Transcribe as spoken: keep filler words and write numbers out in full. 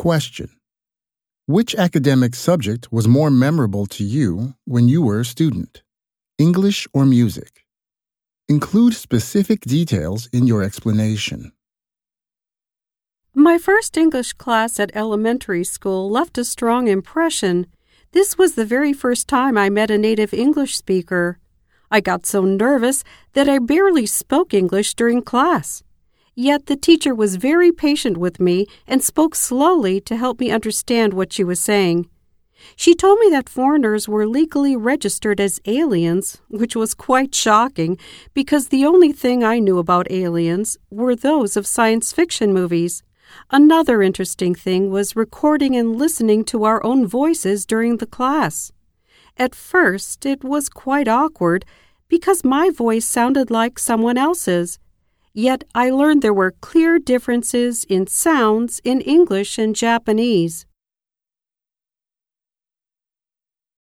Question: which academic subject was more memorable to you when you were a student? English or music? Include specific details in your explanation. My first English class at elementary school left a strong impression. This was the very first time I met a native English speaker. I got so nervous that I barely spoke English during class. Yet the teacher was very patient with me and spoke slowly to help me understand what she was saying. She told me that foreigners were legally registered as aliens, which was quite shocking because the only thing I knew about aliens were those of science fiction movies. Another interesting thing was recording and listening to our own voices during the class. At first, it was quite awkward because my voice sounded like someone else's. Yet I learned there were clear differences in sounds in English and Japanese.